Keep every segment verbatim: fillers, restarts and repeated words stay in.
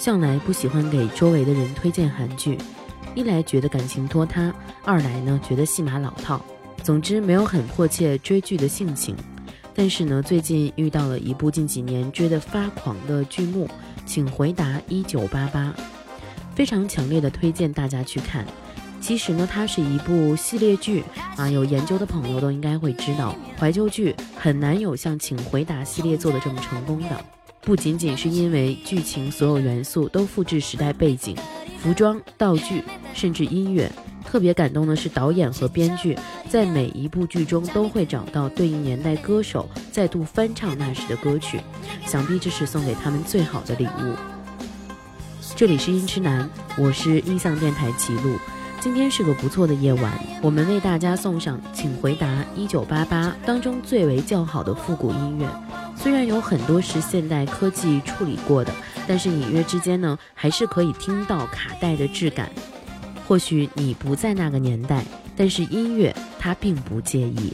向来不喜欢给周围的人推荐韩剧，一来觉得感情拖沓，二来呢觉得戏码老套，总之没有很迫切追剧的性情。但是呢，最近遇到了一部近几年追得发狂的剧目，请回答一九八八，非常强烈的推荐大家去看。其实呢，它是一部系列剧啊，有研究的朋友都应该会知道，怀旧剧很难有像请回答系列做的这么成功的。不仅仅是因为剧情所有元素都复制时代背景，服装、道具，甚至音乐。特别感动的是导演和编剧在每一部剧中都会找到对应年代歌手再度翻唱那时的歌曲，想必这是送给他们最好的礼物。这里是音痴男，我是音像电台齐路。今天是个不错的夜晚，我们为大家送上请回答一九八八当中最为较好的复古音乐。虽然有很多是现代科技处理过的，但是隐约之间呢，还是可以听到卡带的质感。或许你不在那个年代，但是音乐它并不介意。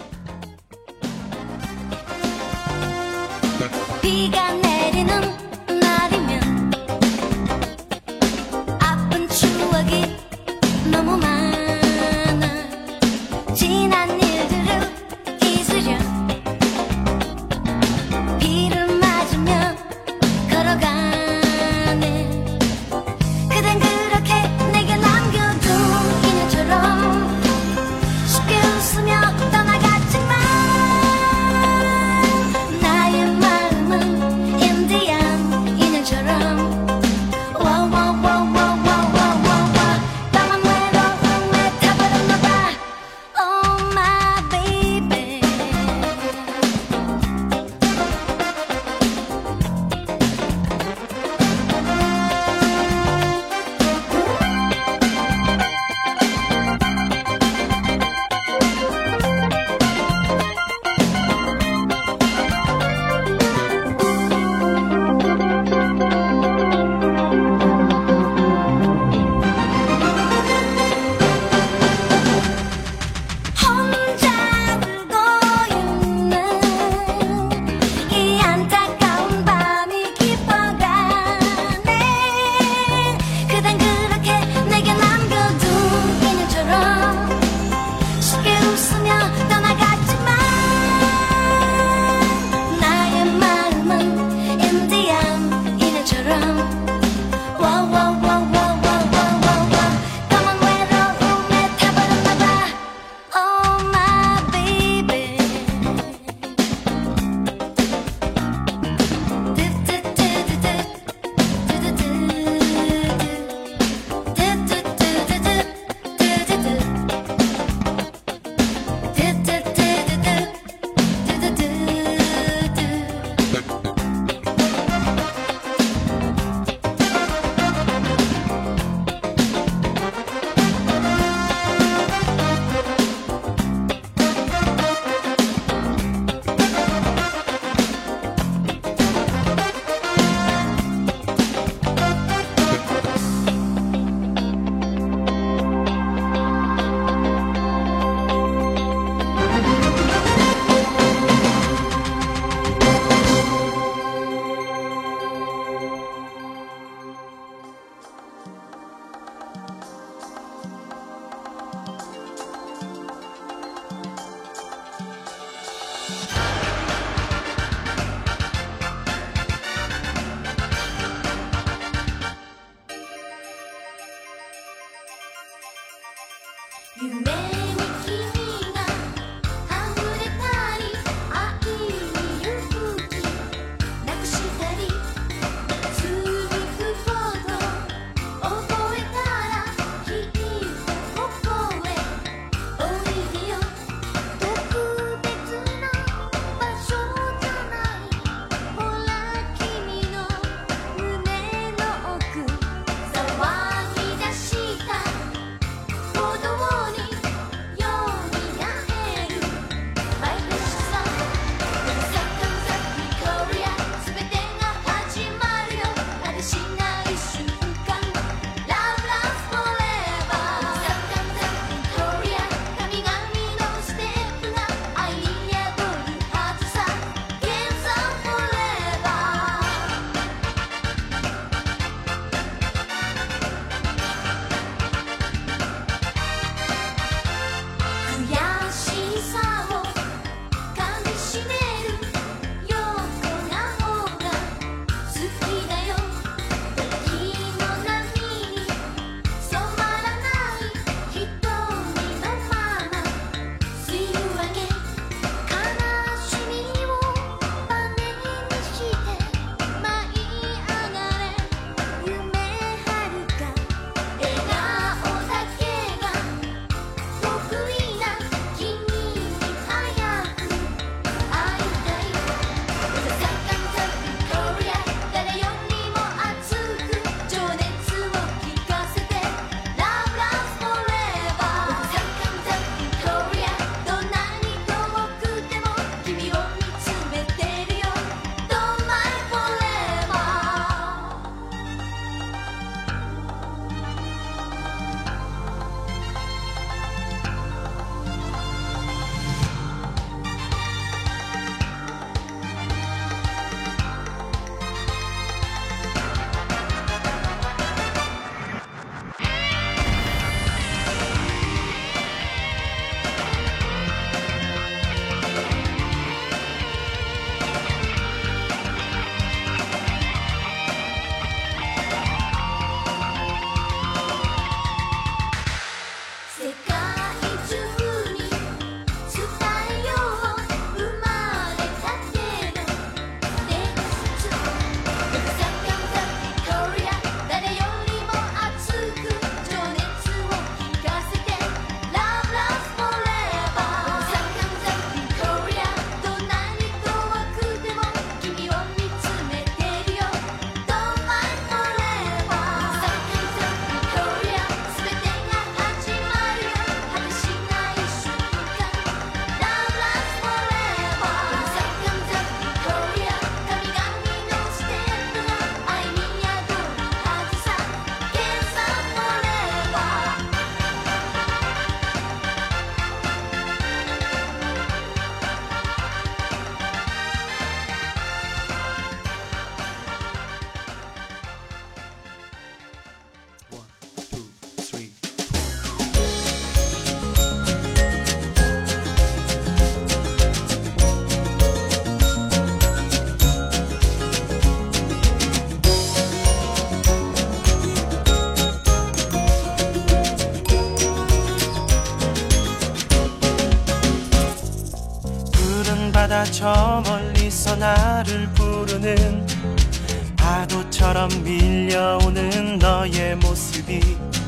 때마다 저 멀리서 나를 부르는 파도처럼 밀려오는 너의 모습이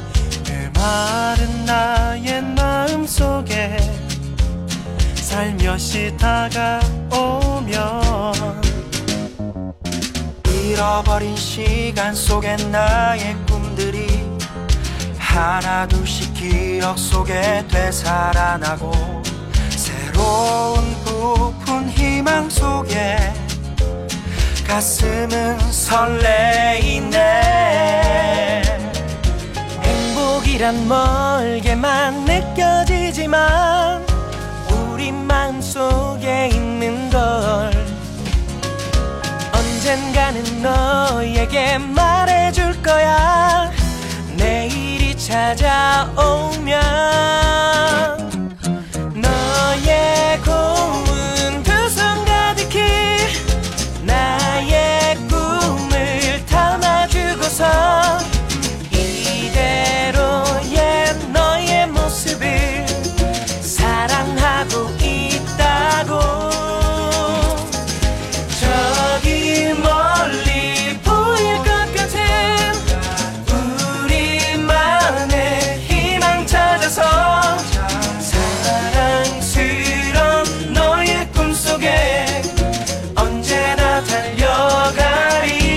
메마른 나의 마음속에 살며시 다가오면 잃어버린 시간 속엔 나의 꿈들이 하나둘씩 기억 속에 되살아나고 새로운 부푼 희망 속에 가슴은 설레이네. 행복이란 멀게만 느껴지지만 우리 마음속에 있는 걸 언젠가는 너에게 말해줄 거야. 내일이 찾아오면 너의 고운 두 손 가득히 나의 꿈을 담아주고서 이대로의 너의 모습을 사랑하고 있다고. 저기 멀리 보일 것 같은 우리만의 희망 찾아서 사랑스런 너의 꿈속에 언제나 달려가리.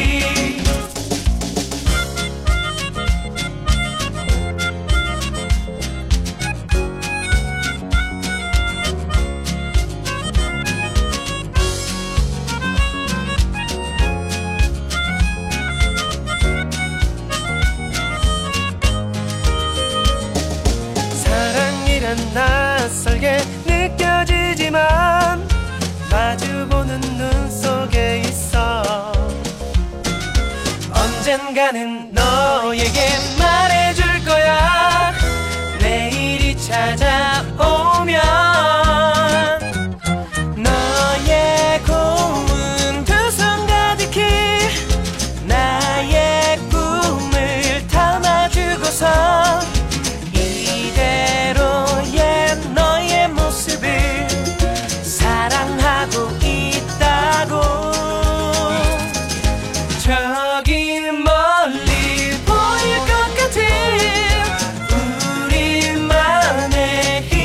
사랑이란 낯설게 느껴지지만 마주보는 눈 속에 있어. 언젠가는 너에게 말해줄 거야. 내일이 찾아오면 너의 고운 두 손 가득히 나의 꿈을 담아주고서 이대로의 너의 모습을 사랑하고 있다고. 저기 멀리 보일 것 같은 우리만의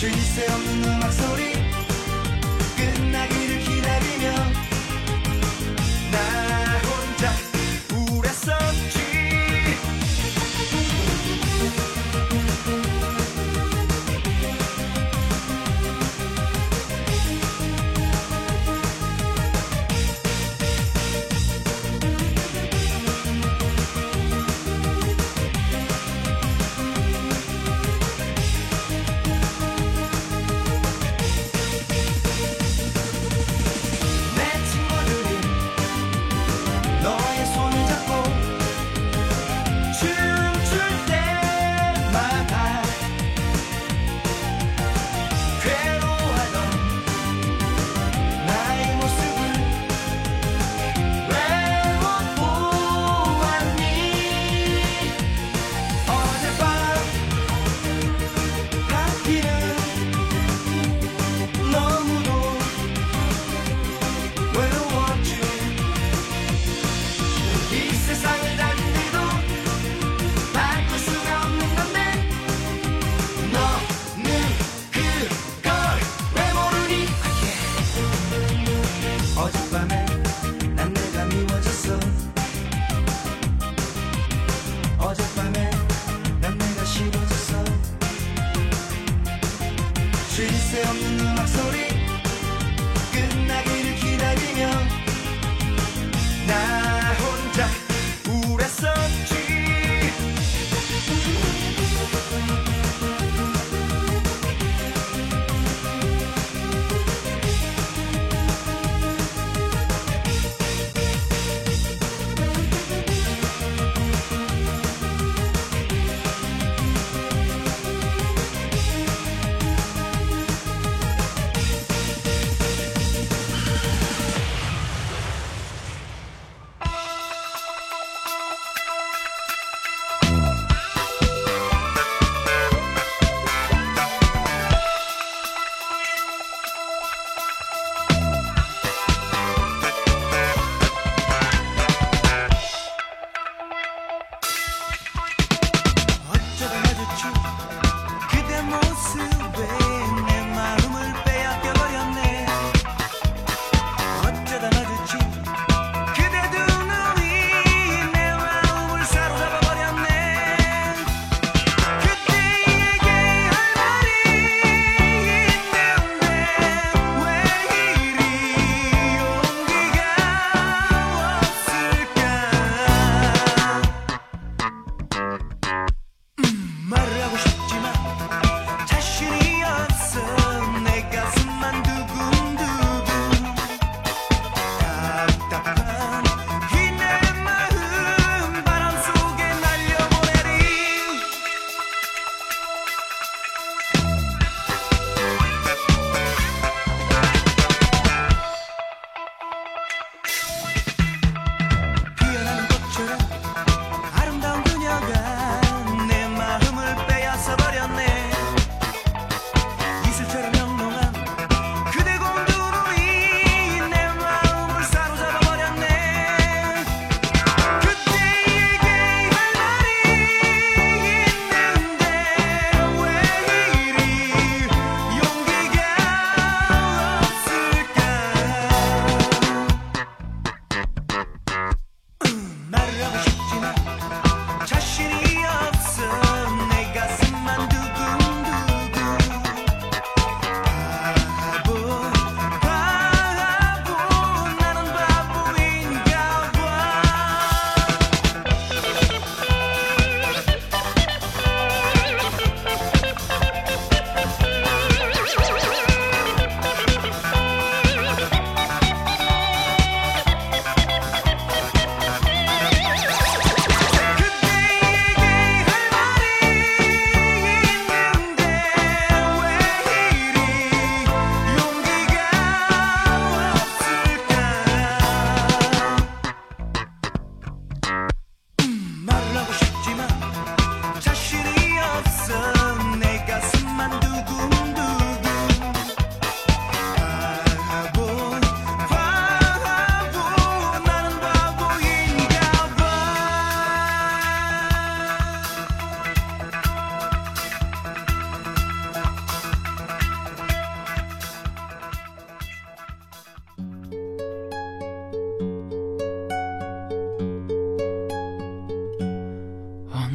쉴 새 없는 음악 소리 끝나기를 기다리며 나 혼자 우울했었지.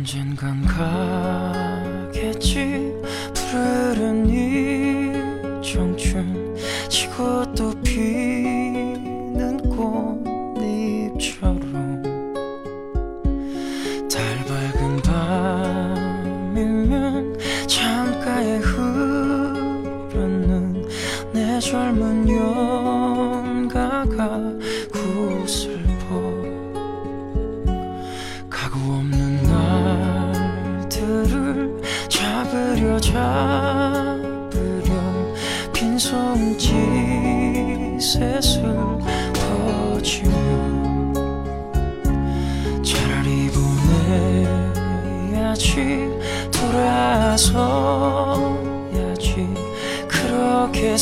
언젠간 가겠지 푸르른 이 청춘 지고 또 피는 꽃잎처럼 달 밝은 밤이면 창가에 흐르는 내 젊은 연가가 구슬퍼 가구 없는 날들을 잡으려 잡으려 빈손짓 셋을 퍼지며 차라리 보내야지 돌아서야지 그렇게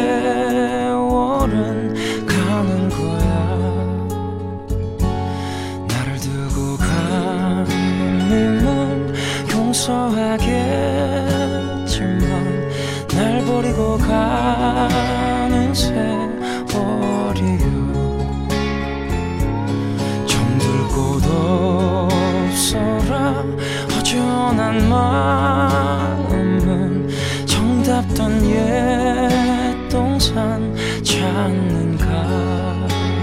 세월은 가는 거야 나를 두고 가님은 용서하겠지만 날 버리고 가는 세월이요 정들 곳 없어라 허전한 마음은 정답던 옛 동산 찾는가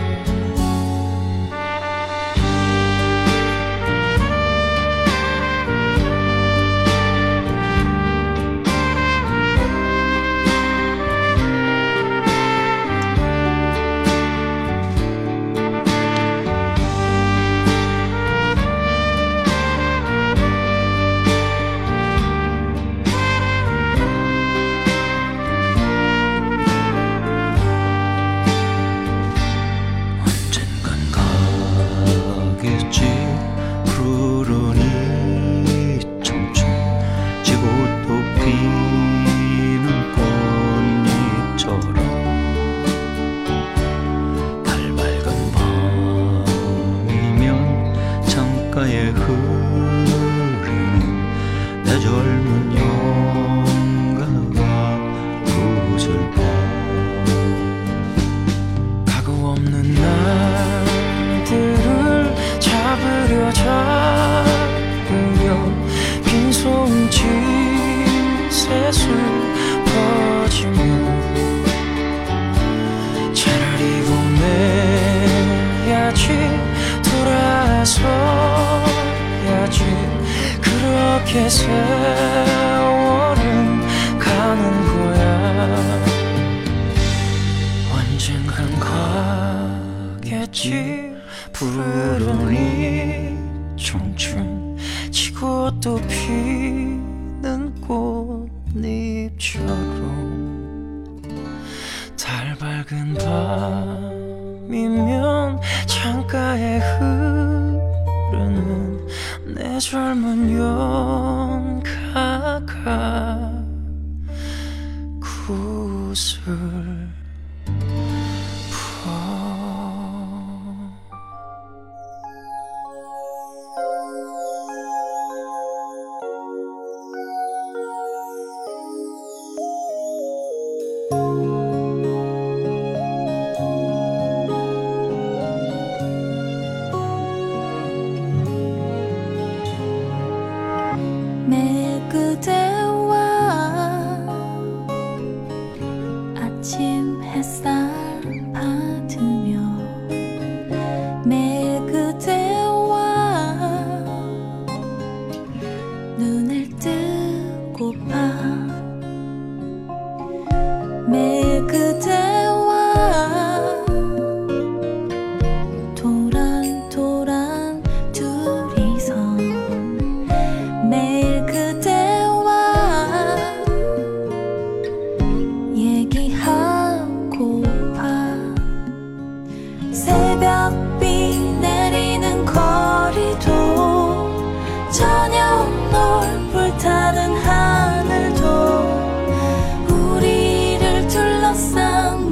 그렇게 세월은 가는 거야 언젠간 가겠지 푸르른 이 청춘 지고 또 피는 꽃잎처럼 달 밝은 밤이면 창가에 흐르는 내 젊은 연가가 구슬 매일 그대와 아침 햇살 받으며 매일 그대와 눈을 뜨고파 매일 그대와 도란도란 둘이서 매일 그대와 얘기하고파 새벽비 내리는 거리도 저녁 널 불타는 하늘도 우리를 둘러싼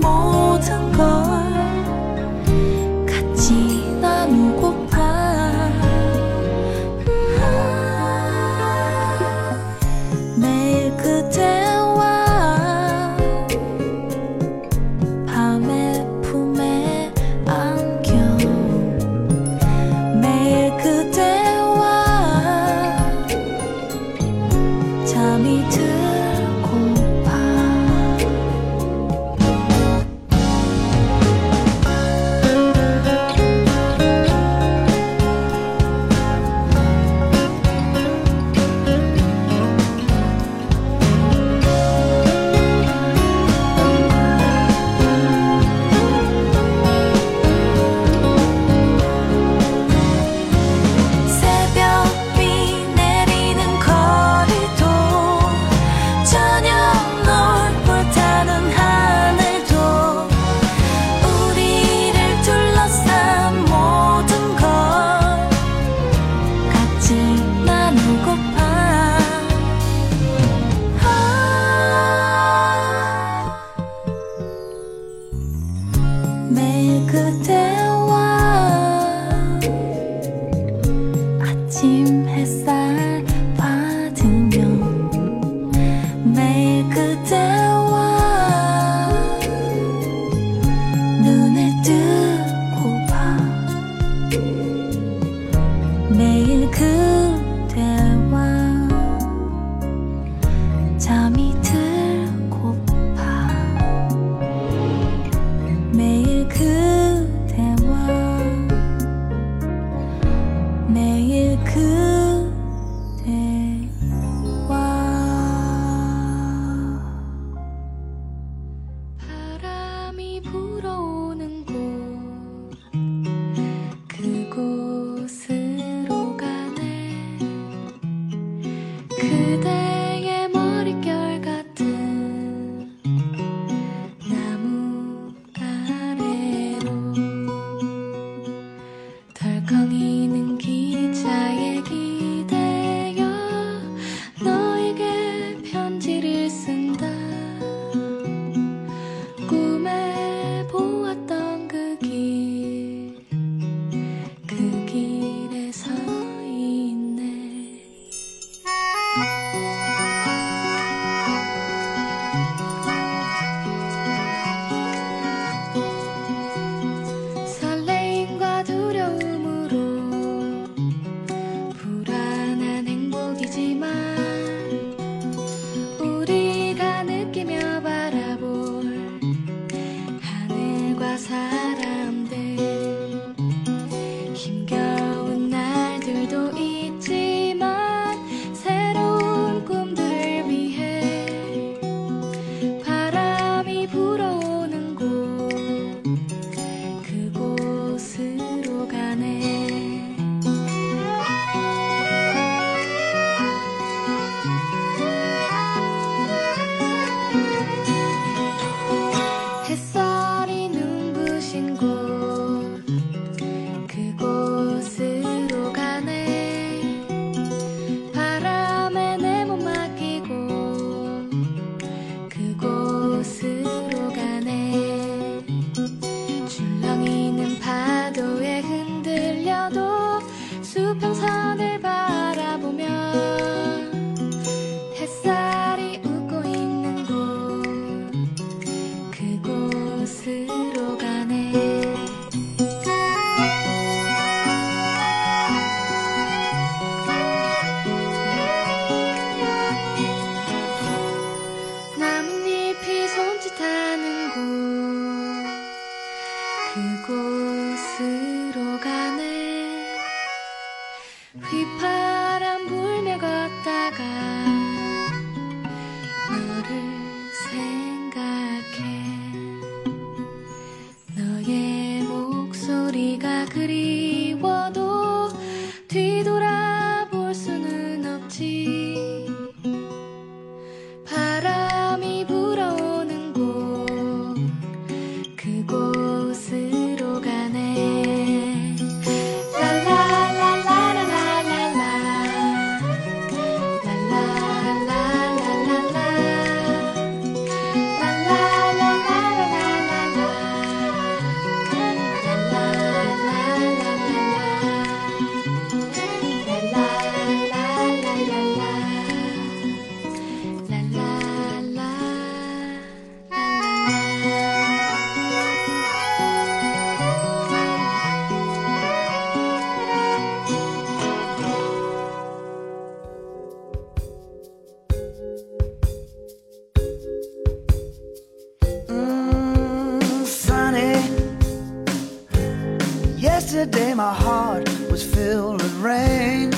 Yesterday my heart was filled with rain.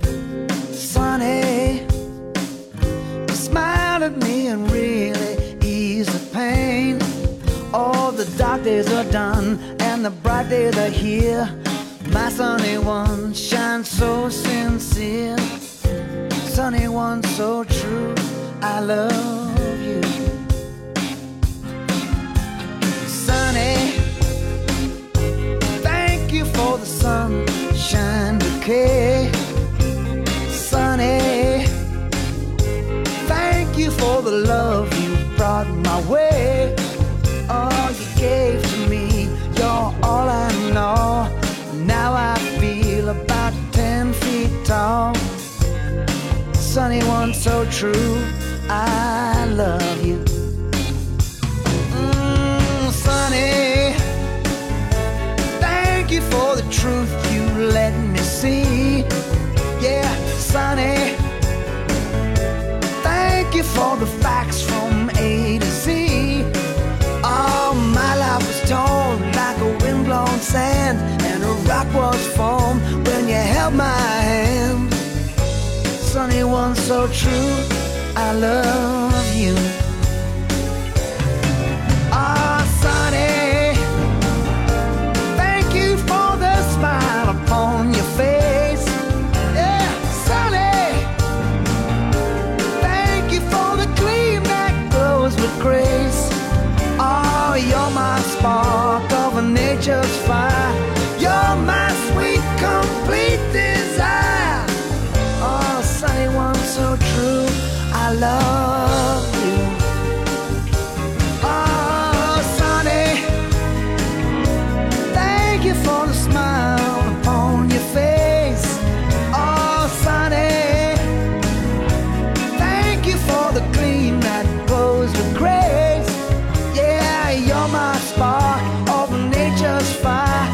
Sunny, you smiled at me and really eased the pain. All the dark days are done and the bright days are here. My sunny one shines so sincere. Sunny one so true, I love you. Sunny, thank you for the sunshine bouquet. Sunny, thank you for the love you brought my way. All you gave to me, you're all I know. Now I feel about ten feet tall. Sunny one so true, I love you. Mm, Sunny, thank you for the truth you let me see. Yeah, Sunny, thank you for the facts from A to Z. Oh, my life was torn like a windblown sand, and a rock was formed when you held my hand. Sunny one so true, I love you. Ah, Sunny, thank you for the smile upon your face. Yeah, Sunny, thank you for the gleam that glows with grace. Oh, you're my spark of nature's fire. You're my sweet, complete desire. Oh, Sunny one so true, I love you. Oh, Sunny, thank you for the smile upon your face. Oh, Sunny, thank you for the gleam that glows with grace. Yeah, you're my spark of nature's fire.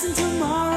and tomorrow